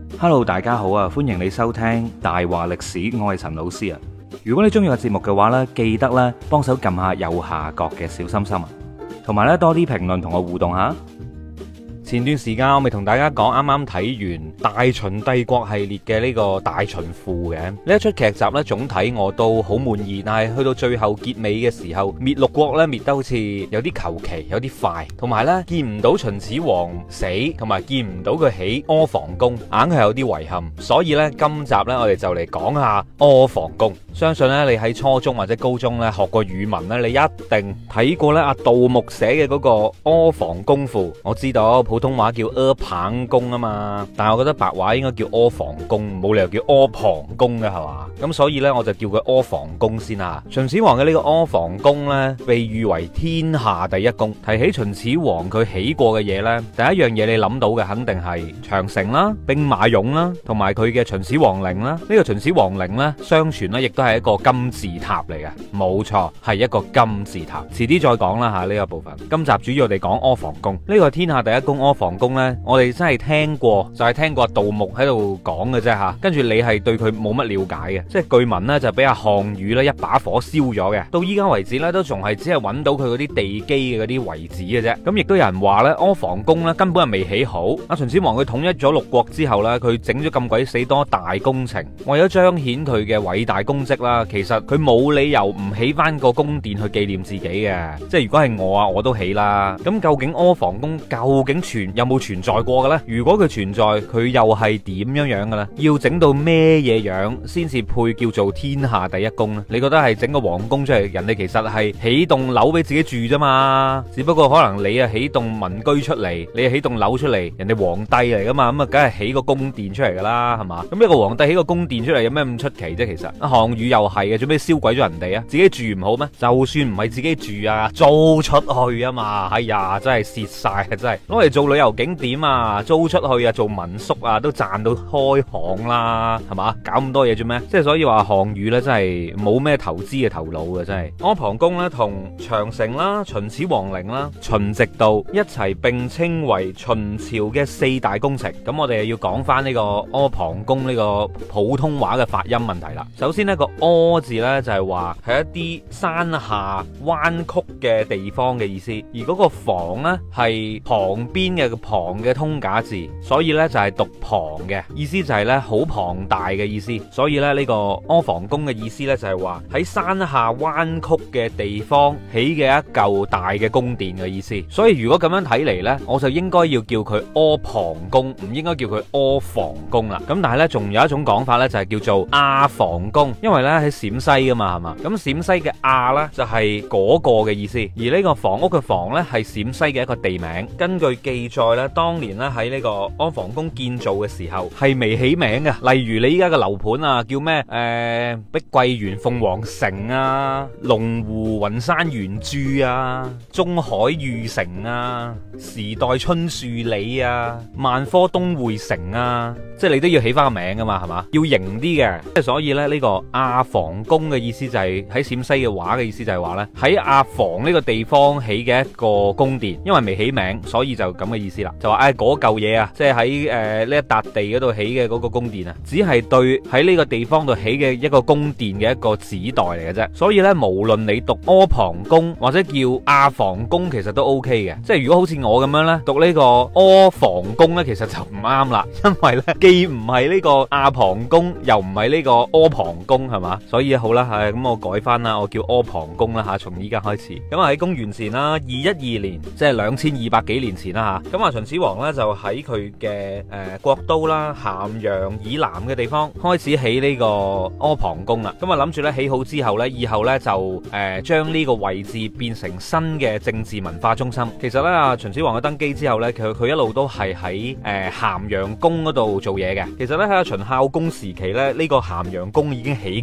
Hello，大家好啊！歡迎你收聽大話歷史，我係陳老師啊。如果你中意個節目嘅話呢，記得咧幫手撳下右下角嘅小心心啊，同埋咧多啲評論同我互動下。前段時間我咪同大家講，啱啱睇完大秦帝國系列嘅呢個大秦賦嘅呢一出劇集呢，總體我都好滿意，但係去到最後結尾嘅時候，滅六國呢滅得好似有啲求其，有啲快，同埋呢見唔到秦始皇死，同埋見唔到佢起阿房宮，硬係有啲遺憾。所以呢，今集呢，我哋就嚟講下阿房宮。相信呢，你喺初中或者高中呢學過語文呢，你一定睇過呢阿杜牧寫嘅嗰個阿房宮賦。我知道普通話叫阿房宮啊嘛，但係我覺得白話應該叫阿房宮，冇理由叫阿房宮嘅係嘛？咁所以呢，我就叫佢阿房宮先啦。秦始皇嘅呢個阿房宮呢，被譽為天下第一宮。提起秦始皇佢起過嘅嘢呢，第一樣嘢你諗到嘅肯定係長城啦、兵馬俑啦，同埋佢嘅秦始皇陵啦。呢個秦始皇陵呢，相傳呢亦都係一個金字塔嚟嘅，冇錯，係一個金字塔。遲啲再講啦吓呢個部分。今集主要我哋講阿房宮。呢個天下第一宮阿房宮呢，我哋真係聽過，就係聽過杜牧喺度講嘅啫吓。跟住你係對佢冇乜了解嘅，即係據聞呢就俾阿項羽呢一把火燒咗嘅。到依家為止呢，都仲係只係揾到佢嗰啲地基嘅嗰啲遺址嘅啫。咁亦都有人話呢，阿房宮呢根本係未起好。阿秦始皇佢統一咗六國之後呢，佢整咗咁鬼死多大工程，為咗彰顯佢嘅偉大功績啦，其實佢冇理由唔起翻個宮殿去紀念自己嘅。即係如果係我啊，我都起啦。咁究竟阿房宮究竟有冇存在過嘅咧？如果佢存在，佢又係點樣嘅咧？要整到咩嘢樣先至配叫做天下第一宮咧？你覺得係整個皇宮出嚟，人哋其實係起棟樓俾自己住啫嘛？只不過可能你啊起棟民居出嚟，你啊起棟樓出嚟，人哋皇帝嚟噶嘛？咁啊，梗係起個宮殿出嚟噶啦，係嘛？咁一個皇帝起個宮殿出嚟，有咩咁出奇啫？其實項羽又係嘅，做咩燒鬼咗人哋啊？自己住唔好咩？就算唔係自己住啊，租出去啊嘛！哎呀，真係蝕晒啊！真係攞嚟做旅遊景點啊，租出去啊，做民宿啊，都賺到開行啦，係嘛？搞咁多嘢做咩？即係所以話項羽呢，真係冇咩投資嘅頭腦嘅，真係。阿房宮呢，同長城啦、秦始皇陵啦、秦直道一齊並稱為秦朝嘅四大工程。咁我哋又要講翻呢個阿房宮呢個普通話嘅發音問題啦。首先呢個阿字呢，就係話係一啲山下彎曲嘅地方嘅意思，而嗰個房呢，係旁邊嘅旁嘅通假字，所以呢就係讀旁嘅意思，就係呢好龐大嘅意思。所以呢，呢個阿房宮嘅意思呢，就係話喺山下彎曲嘅地方起嘅一嚿大嘅宮殿嘅意思。所以如果咁樣睇嚟呢，我就應該要叫佢阿房宮，唔應該叫佢阿房宮啦。咁但係呢，仲有一種講法呢，就係叫做阿房宮，因為呢喺陝西噶嘛，係嘛？咁陝西嘅阿呢，就係嗰個嘅意思，而呢個房屋嘅房呢，係陝西嘅一個地名。根據記載呢，當年呢喺呢個阿房宮建造嘅時候係未起名嘅，例如你依家嘅樓盤啊，叫咩？碧桂園鳳凰城啊，龍湖雲山圓珠啊，中海御城啊，時代春樹里啊，萬科東匯城啊，即係你都要起翻個名噶嘛，係嘛？要型啲嘅。即係所以咧，呢個阿房宮嘅意思就係喺陝西嘅話嘅意思就係話呢，喺阿房呢個地方起嘅一個宮殿，因為未起名，所以就咁嘅意思啦。就話嗰嚿嘢啊，即係喺呢一笪地嗰度起嘅嗰個宮殿啊，只係對喺呢個地方度起嘅一個宮殿嘅一個指代嚟嘅啫。所以呢，無論你讀阿房宮或者叫阿房宮，其實都 OK 嘅。即係如果好似我咁樣呢，讀呢個阿房宮呢，其實就唔啱啦，因為呢，既唔係呢個阿房宮，又唔係呢個阿房宮，係嘛？所以好啦，咁我改翻啦，我叫阿房宮啦吓，從依家開始。咁啊喺公元前啦212年，即係2200幾年前啦吓。咁啊秦始皇呢，就喺佢嘅國都啦咸陽以南嘅地方開始起呢個阿房宮啦。咁啊諗住咧起好之後呢，以後呢，就將呢個位置變成新嘅政治文化中心。其實呢，秦始皇嘅登基之後呢，佢一路都係喺咸陽宮嗰度做嘢嘅。其實呢，喺秦孝公時期呢，呢個咸陽宮已經起緊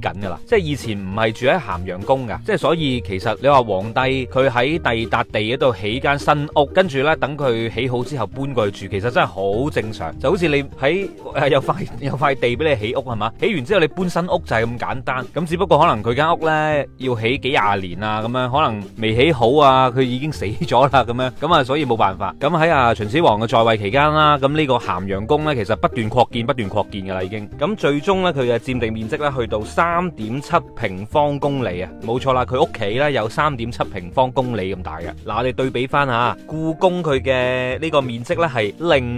緊噶啦。即係以前唔係住喺咸陽宮噶，即係所以其實你話皇帝佢喺第二笪地嗰度起間新屋，跟住咧等佢起好之後搬過去住，其實真係好正常。就好似你喺有塊地俾你起屋係嘛，起完之後你搬新屋就係咁簡單。咁只不過可能佢間屋咧要起幾廿年啊，咁樣可能未起好啊，佢已經死咗啦咁樣，咁啊所以冇辦法。咁喺秦始皇嘅在位期間啦，咁呢個咸陽宮咧其實不斷擴建噶啦已經。咁最終咧佢嘅佔地面積咧去到3.7平方公里啊，冇錯啦，佢屋企咧有3.7平方公里咁大嘅。嗱，我哋對比翻下故宮佢嘅呢個面積咧係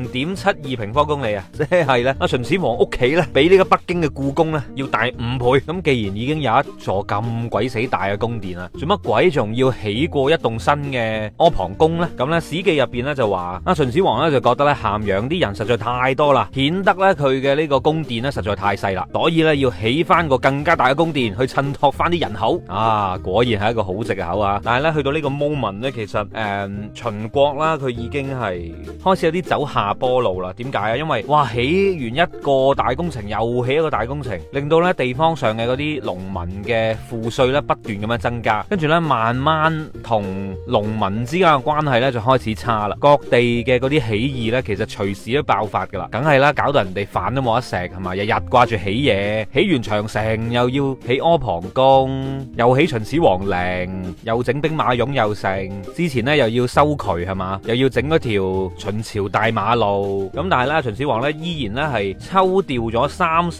0.72平方公里啊，即係咧秦始皇屋企咧比呢個北京嘅故宮咧要大5倍。咁既然已經有一座咁鬼死大嘅宮殿啦，做乜鬼仲要起過一棟新嘅阿房宮咧？咁咧史記入邊咧就話秦始皇咧就覺得咧咸陽啲人實在太多啦，顯得咧佢嘅呢個宮殿咧實在太細啦，所以咧要起翻個更加大嘅宮殿去襯托翻啲人口啊！果然係一個好直嘅口啊！但係咧去到呢個 moment 咧，其實秦國啦佢已經係開始有啲走下坡路啦。點解啊？因為哇起完一個大工程又起一個大工程，令到咧地方上嘅嗰啲農民嘅賦稅咧不斷咁樣增加，跟住咧慢慢同農民之間嘅關係咧就開始差啦。各地嘅嗰啲起義咧，其實隨時都爆發噶啦，梗係啦，搞到人哋飯都冇得食係嘛，日日掛住起嘢，起完長城又要起阿房宮，又起秦始皇陵，又整兵馬俑又成，之前咧又要修渠係嘛，又要整嗰條秦朝大馬路。咁但係咧秦始皇咧依然咧係抽調咗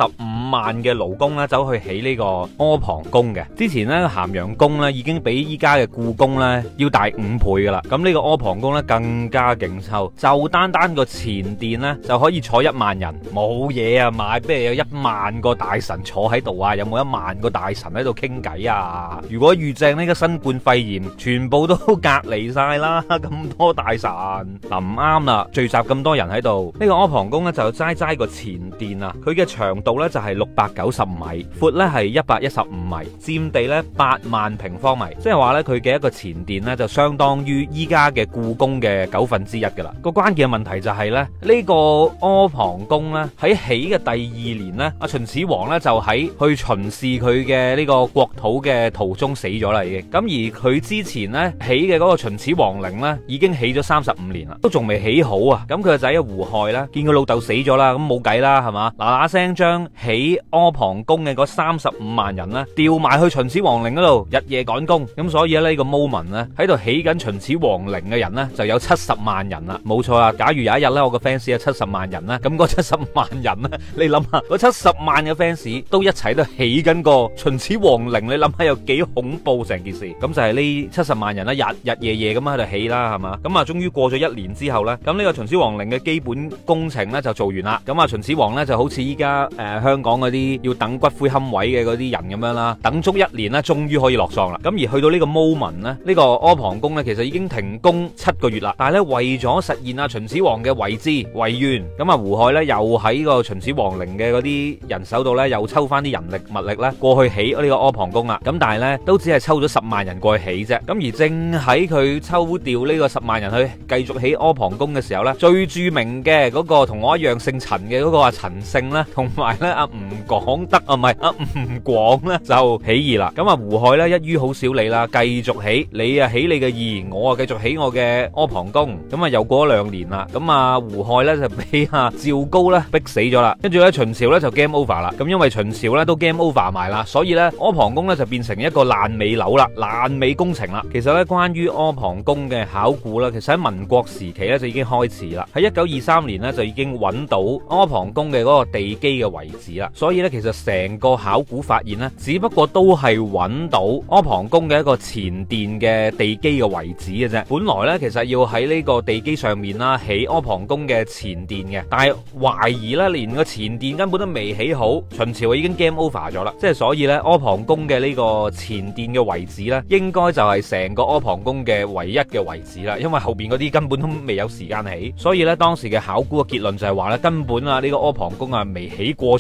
35萬嘅勞工咧走去起呢個阿房宮嘅。之前咧咸陽宮咧已經比依家嘅故宮咧要大5倍噶啦。咁呢個阿房宮咧更加勁抽，就單個前殿咧就可以坐1萬人，冇嘢啊買，不如有1萬個大臣坐喺度啊？有冇1萬個大臣喺度傾偈啊？如果遇正呢個新冠肺炎，全部都隔離晒啦，咁多大臣嗱唔啱啦，聚集咁多人喺度，呢個阿房宮咧就齋個前殿啊，佢嘅長度咧就係690米，闊咧係115米，佔地咧8萬平方米，即係話咧佢嘅一個前殿咧就相當於依家嘅故宮嘅1/9噶啦。個關鍵嘅問題就係咧呢個阿房宮咧喺起嘅第2年咧，秦始皇咧就喺去巡視佢嘅呢個國土嘅途中死咗啦已經。咁而佢之前咧起嘅嗰個秦始皇陵咧已經起咗35年啦，都仲未起好啊。咁佢個仔胡亥咧見佢老豆死咗啦，咁冇計啦係嘛，嗱聲將起阿房宮嘅嗰35萬人咧調埋去秦始皇陵嗰度日夜趕工。咁所以呢個 moment 咧喺度起緊秦始皇陵嘅人咧就有70萬人啦，冇錯啦。假如有一日咧我個 fans 有70萬人咧，咁嗰70萬人咧，你諗下嗰70萬嘅 fans 都一齊都起緊個秦始皇陵，你諗下有幾恐怖成件事。咁就係呢70萬人啦，日夜咁喺度起啦係嘛。咁啊終於過咗1年之後咧，咁呢個秦始皇陵嘅基本工程咧就做完啦。咁啊秦始皇咧就好似依家香港嗰啲要等骨灰龕位嘅嗰啲人咁樣啦，等足1年咧終於可以落葬啦。咁而去到呢個 moment 咧，呢個阿房宮咧其實已經停工7個月啦。但係咧為咗實現秦始皇嘅遺志遺願，咁胡亥咧又喺個秦始皇陵嘅嗰啲人手度咧又抽翻啲人力物力咧過去起呢個阿房宮啦。咁但係咧都只係抽咗10萬人過去起啫。咁而正喺佢抽調呢個10萬人去繼續起阿房宮嘅時候咧，最著名嘅嗰個同我一樣姓陳嘅嗰個阿陳勝咧，同埋咧阿吳廣德啊，唔係阿吳廣咧就起義啦。咁啊胡亥咧一於好少理啦，繼續起，你啊起你嘅義，我啊繼續起我嘅阿房宮。咁啊又過咗2年啦，咁啊胡亥咧就俾阿趙高咧逼死咗啦。跟住咧秦朝咧就 game over 啦。咁因為秦朝咧都 game over 埋啦，所以咧阿房宮咧就變成一個爛尾樓啦，爛尾工程啦。其實咧關於阿房宮嘅考古啦，其實喺民國時期咧就已經開始啦。喺1923年咧就已經揾到阿房宮嘅嗰個地基嘅遺址啦。所以咧其實成個考古發現咧，只不過都係揾到阿房宮嘅一個前殿嘅地基嘅遺址嘅啫。本來咧其實要喺呢個地基上面啦起阿房宮嘅前殿嘅，但係懷疑咧連個前殿根本都未起好，秦朝已經 game over 咗啦。即係所以咧阿房宮嘅呢個前殿嘅遺址咧，應該就係成個阿房宮嘅唯一嘅遺址啦。因為後邊嗰啲根本都未有時間起，所以咧當時嘅考古嘅結論就係話咧根本啊呢個阿房宮啊未起過出嚟。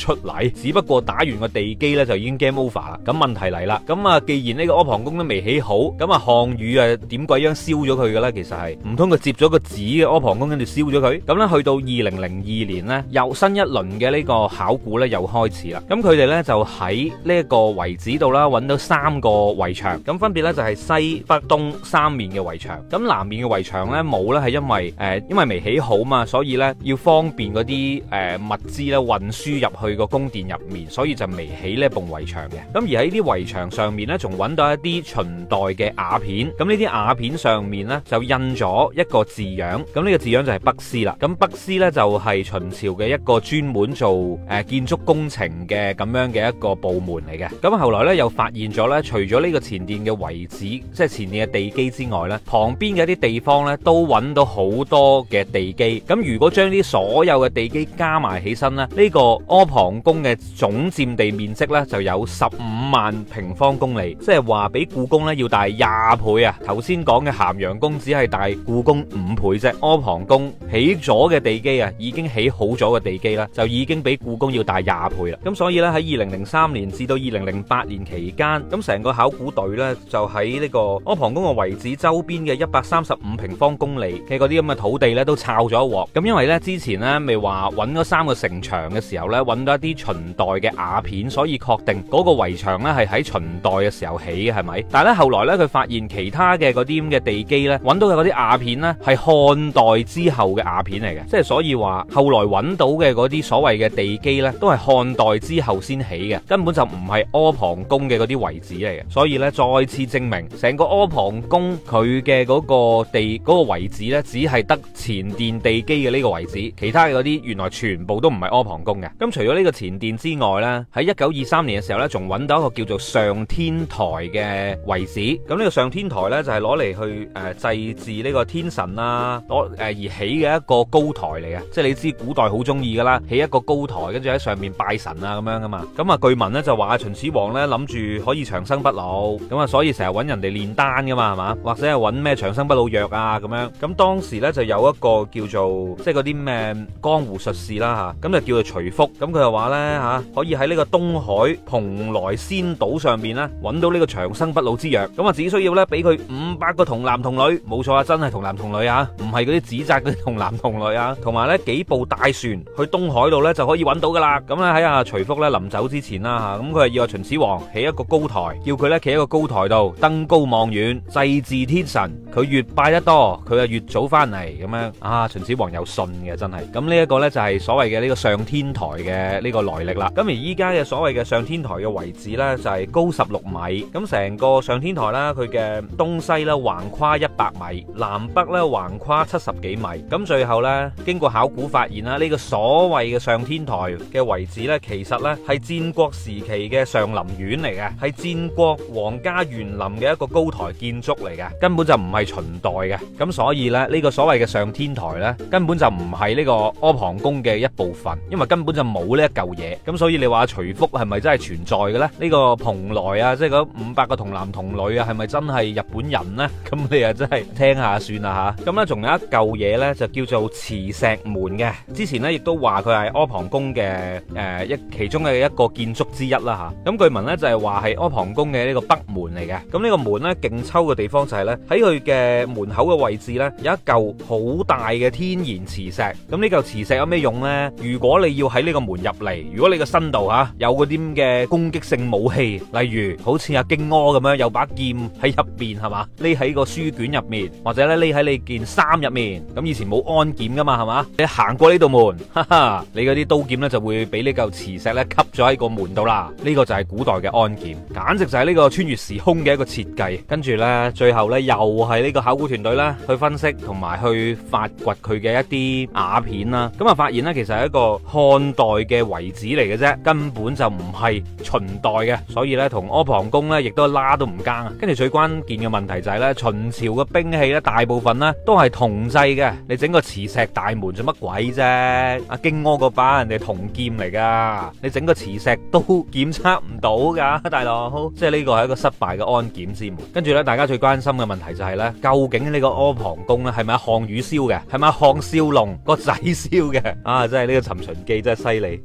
係，只不過打完個地基咧就已經 game over 啦。咁問題嚟啦，咁啊既然呢個阿房宮都未起好，咁啊項羽啊點鬼樣燒咗佢嘅咧？其實係唔通佢接咗個紙嘅阿房宮跟住燒咗佢？咁咧去到2002年咧，又新一輪嘅呢個考古咧又開始啦。咁佢哋咧就喺呢一個遺址度啦，揾到3個圍牆，咁分別咧就係西北東3面嘅圍牆。咁南面嘅圍牆咧冇咧，係因為未起好嘛，所以咧要方便嗰啲物資咧運輸入去個宮殿入面，所以就未起呢一埲圍牆嘅。咁而喺啲圍牆上面咧，仲揾到一啲秦代嘅瓦片。咁呢啲瓦片上面咧就印咗一個字樣。咁呢個字樣就係北師啦。咁北師咧就係秦朝嘅一個專門做建築工程嘅咁樣嘅一個部門嚟嘅。咁後來咧又發現咗咧，除咗呢個前殿嘅遺址，即係前殿嘅地基之外咧，旁邊嘅一啲地方咧都揾到好多嘅地基。咁如果將啲所有嘅地基加埋起身咧，呢個阿房宮嘅總佔地面積咧就有15萬平方公里，即係話比故宮咧要大20倍啊！頭先講嘅咸陽宮只係大故宮5倍啫，阿房宮起咗嘅地基啊，已經起好咗嘅地基啦，就已經比故宮要大20倍啦。咁所以咧喺2003年至到2008年期間，咁成個考古隊咧就喺呢個阿房宮嘅遺址周邊嘅135平方公里嘅嗰啲咁嘅土地咧都抄咗一鑊。咁因為咧之前咧未話揾嗰3個城牆嘅時候咧揾到一啲秦代嘅瓦片，所以確定嗰個圍牆咧係喺秦代嘅時候起嘅，係咪？但係咧後來咧佢發現其他嘅嗰啲咁嘅地基咧揾到嘅嗰啲瓦片咧係漢代之後嘅瓦片嚟嘅，即係所以話後來揾到嘅嗰啲所謂嘅地基咧都係漢代之後先起嘅，根本就唔係阿房宮嘅嗰啲遺址嚟嘅。所以咧再次證明成個阿房宮佢嘅嗰個地嗰個遺址咧只係得前殿地基嘅呢個遺址，其他嘅嗰啲原來全部都唔係阿房宮嘅。咁除咗呢個前殿之外咧，喺1923年嘅時候咧仲揾到一個叫做上天台嘅遺址。咁呢個上天台咧就係攞嚟去祭祀呢個天神啦，而起嘅一個高台嚟嘅。即係你知古代好中意噶啦，起一個高台跟住喺上面拜神啊咁樣噶嘛。咁啊據聞咧就話秦始皇咧諗住可以長生不老，咁啊所以成日揾人哋煉丹噶嘛，係嘛？或者係揾咩長生不老藥啊咁樣。咁當時咧就有一個叫做即係嗰啲咩江湖術士啦吓，咁就叫做徐福。咁佢就話咧吓，可以喺呢個東海蓬萊仙島上面咧揾到呢個長生不老之藥。咁啊只需要咧俾佢500個童男童女，冇錯啊，真係童男童女啊，唔係嗰啲紙紮嗰啲童男童女啊，同埋咧幾部大船去東海度咧就可以揾到噶啦。咁咧喺阿徐福咧臨走之前啦吓，咁佢係要阿秦始皇起一個高台，叫佢咧企喺個高台度登高望遠，祭祀天神。佢越拜得多，佢就越早翻嚟咁樣啊！秦始皇有信嘅真係。咁呢一個咧就係所謂嘅呢個上天台嘅呢個來歷啦。咁而依家嘅所謂嘅上天台嘅位置咧就係高16米。咁成個上天台啦，佢嘅東西咧橫跨100米，南北咧橫跨70幾米。咁最後咧經過考古發現啦，呢個所謂嘅上天台嘅位置咧，其實咧係戰國時期嘅上林苑嚟嘅，係戰國皇家園林嘅一個高台建築嚟嘅，根本就唔係秦代嘅。咁所以咧呢個所謂嘅上天台咧根本就唔係呢個阿房宮嘅一部分，因為根本就冇呢一嚿嘢。咁所以你話徐福係咪真係存在嘅咧？呢個蓬萊啊，即係嗰500個童男童女啊，係咪真係日本人咧？咁你啊真係聽下算啦吓。咁咧仲有一嚿嘢咧就叫做磁石門嘅，之前咧亦都話佢係阿房宮嘅其中嘅一個建築之一啦吓。咁據聞咧就係話係阿房宮嘅呢個北門嚟嘅。咁呢個門咧勁抽嘅地方就係咧喺佢嘅門口嘅位置咧有一嚿好大嘅天然磁石。咁呢嚿磁石有咩用咧？如果你要喺呢個門入嚟，如果你個身度吓有嗰啲咁嘅攻擊性武器，例如好似阿荊軻咁樣有把劍喺入邊係嘛，匿喺個書卷入面，或者咧匿喺你件衫入面。咁以前冇安檢噶嘛係嘛，你行過呢度門，哈哈，你嗰啲刀劍咧就會俾呢嚿磁石咧吸咗喺個門度啦。呢個就係古代嘅安檢，簡直就係呢個穿越時空嘅一個設計。跟住咧最後咧又係呢個考古團隊咧去分析同埋去發掘佢嘅一啲瓦片啦。咁啊發現咧其實係一個漢代嘅遺址嚟嘅啫，根本就唔係秦代嘅，所以咧同阿房宮咧亦都拉都唔更啊。跟住最關鍵嘅問題就係咧秦朝嘅兵器咧大部分咧都係銅製嘅，你整個磁石大門做乜鬼啫？阿荊軻嗰把人哋銅劍嚟噶，你整個磁石都檢測唔到噶，大佬，即係呢個係一個失敗嘅安檢之門。跟住咧大家最關心嘅問題就係咧，究竟呢個阿房宮咧係咪項羽燒嘅？係咪項少龍個仔燒嘅？啊，真係呢個尋秦記真係犀利，竟然可以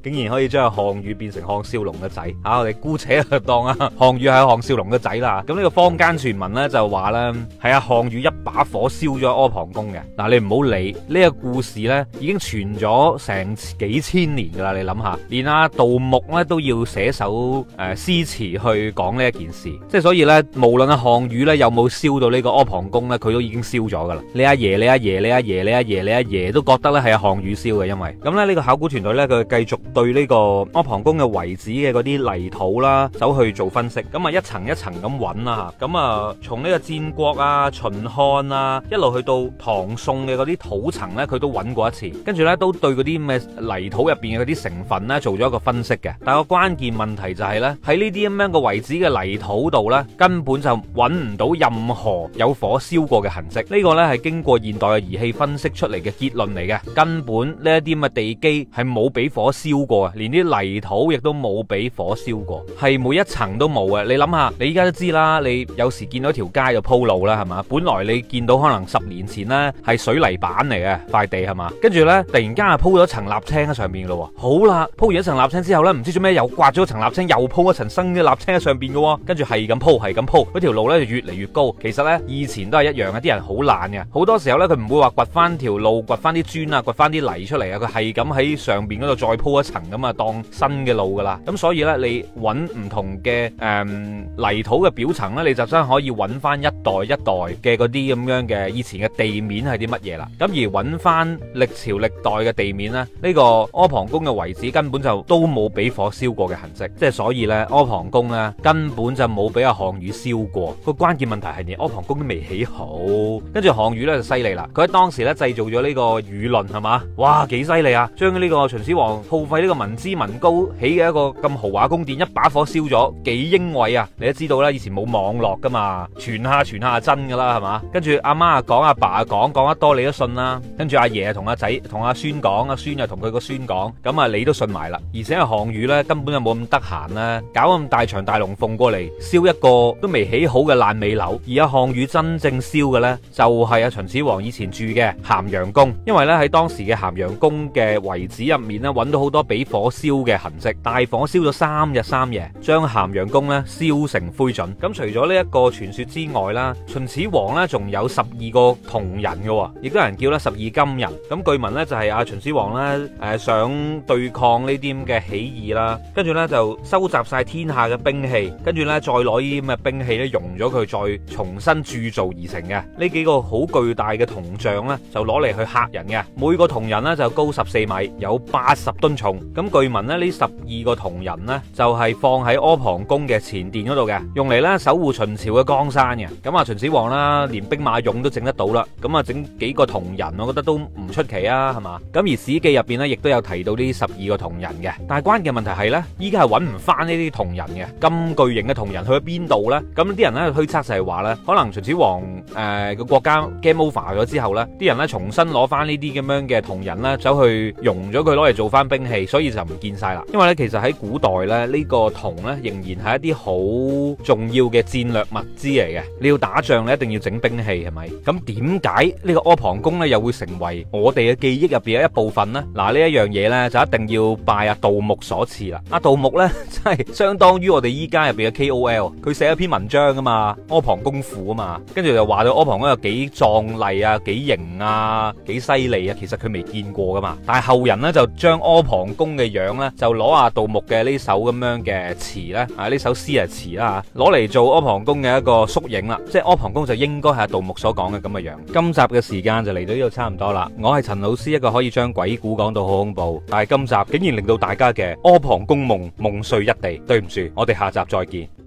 以將項羽變成項少龍嘅仔啊！我哋姑且就當啊項羽係項少龍嘅仔啦。咁呢個坊間傳聞咧就話咧係阿項羽一把火燒咗阿房宮嘅。嗱，你唔好理呢個故事咧，已經傳咗成幾千年噶啦。你諗下，連阿杜牧咧都要寫首詩詞去講呢一件事，即係所以咧，無論阿項羽咧有冇燒到呢個阿房宮咧，佢都已經燒咗噶啦。你阿爺、你阿爺、你阿爺、你阿爺、你阿爺都覺得咧係阿項羽燒嘅，因為咁咧呢個考古團隊咧佢繼續對呢個阿房宮嘅遺址嘅嗰啲泥土啦走去做分析，咁啊一層一層咁揾啦嚇，咁啊從呢個戰國啊、秦漢啊一路去到唐宋嘅嗰啲土層咧，佢都揾過一次，跟住咧都對嗰啲咩泥土入邊嘅嗰啲成分咧做咗一個分析嘅。但係個關鍵問題就係咧喺呢啲咁樣嘅遺址嘅泥土度咧，根本就揾唔到任何有火燒過嘅痕跡。呢個咧係經過現代嘅儀器分析出嚟嘅結論嚟嘅，根本呢一啲咁嘅地基係冇俾火燒過啊，連啲泥土亦都冇俾火燒過，係每一層都冇嘅。你諗下，你依家都知啦，你有時見到條街就鋪路啦，係嘛？本來你見到可能10年前呢係水泥板嚟嘅塊地，係嘛？跟住呢，突然間係鋪咗層瀝青喺上面咯。好啦，鋪完一層瀝青之後呢，唔知做咩又刮咗層瀝青，又鋪一層新嘅瀝青喺上邊嘅，跟住係咁鋪，係咁鋪，嗰條路呢就越嚟越高。其實呢，以前都係一樣嘅，啲人好懶嘅，好多時候呢，佢唔會話掘翻條路，掘翻啲磚啊，掘翻啲泥出嚟啊，佢係咁喺上邊嗰度再鋪一層咁啊，當新嘅路噶啦。咁所以呢，你揾唔同嘅泥土嘅表層呢，你就真係可以揾翻一代一代嘅嗰啲咁樣嘅以前嘅地面係啲乜嘢啦。咁而揾翻歷朝歷代嘅地面呢，呢個阿房宮嘅遺址根本就都冇俾火燒過嘅痕跡，即係所以呢，阿房宮呢根本就冇俾阿項羽燒過。個關鍵問題係連阿房宮都未起好，跟住項羽呢就犀利啦，佢喺當時呢製造咗呢個輿論，係嘛？哇，幾犀利啊！將呢個秦始皇耗費呢個民脂民膏起嘅一個咁豪華宮殿一把火燒咗，幾英偉啊！你都知道啦，以前冇網絡噶嘛，傳下真噶啦，係嘛？跟住阿媽講，阿爸講得多你都信啦。跟住阿爺同阿仔同阿孫講，阿孫又同佢個孫講，咁啊你都信埋啦。而且阿項羽呢，根本就冇咁得閒啦，搞咁大場大龍鳳過嚟燒一個都未起好嘅爛尾樓。而阿項羽真正燒嘅呢，就係阿秦始皇以前住嘅咸陽宮，因為呢，喺當時嘅咸陽宮嘅遺址入面呢，揾到好多俾火燒嘅痕跡，大火燒咗3日3夜，將咸陽宮呢燒成灰燼。咁除咗呢一個傳說之外啦，秦始皇呢仲有12個同人嘅，亦都有人叫咧12金人。咁據聞呢，就係阿秦始皇呢想對抗呢啲咁嘅起義啦，跟住呢就收集晒天下嘅兵器，跟住呢再攞呢啲咁嘅兵器呢熔咗佢，再重新鑄造而成嘅呢幾個好巨大嘅銅像呢，就攞嚟去嚇人嘅。每個銅人呢就高14米，有80噸重。咁據聞呢，呢12個銅人呢，就係放喺阿房宮嘅前殿嗰度嘅，用嚟呢守護秦朝嘅江山嘅。咁啊秦始皇啦，連兵馬俑都整得到啦，咁啊整幾個銅人，我覺得都唔出奇啊，係嘛？咁而史記入邊呢，亦都有提到呢12個銅人嘅。但係關鍵問題係呢，依家係揾唔翻呢啲銅人嘅，咁巨型嘅銅人去咗邊度呢？咁啲人呢推測就係話呢，可能秦始皇個國家 game over 咗之後呢，啲人呢重新攞翻呢啲咁樣嘅銅人呢，走去熔咗佢攞嚟做翻兵器，所以就唔見晒啦。因為呢，其實喺古代呢，呢個銅呢仍然係一啲好重要嘅戰略物資嚟嘅。你要打仗，你一定要整兵器，係咪？咁點解呢個阿房宮呢又會成為我哋嘅記憶入邊嘅一部分呢？嗱，呢一樣嘢呢，就一定要拜阿杜牧所賜啦。阿杜牧呢，真係相當於我哋依家入邊嘅 KOL，佢寫一篇文章啊嘛，阿房宮賦啊嘛，跟住就話到阿房宮有幾壯麗啊，幾型啊，幾犀利啊，其實佢未見過噶嘛。但係後人呢，就將阿房宮嘅樣呢，就攞阿杜牧嘅呢首咁樣嘅詞呢，呢首詩係詞啦吓，攞嚟做阿房宮嘅一個縮影啦，即係阿房宮就應該係阿杜牧所講嘅咁嘅樣。今集嘅時間就嚟到呢度差唔多啦，我係陳老師，一個可以將鬼故講到好恐怖，但係今集竟然令到大家嘅阿房宮夢夢碎一地。對唔住，我哋下集再見。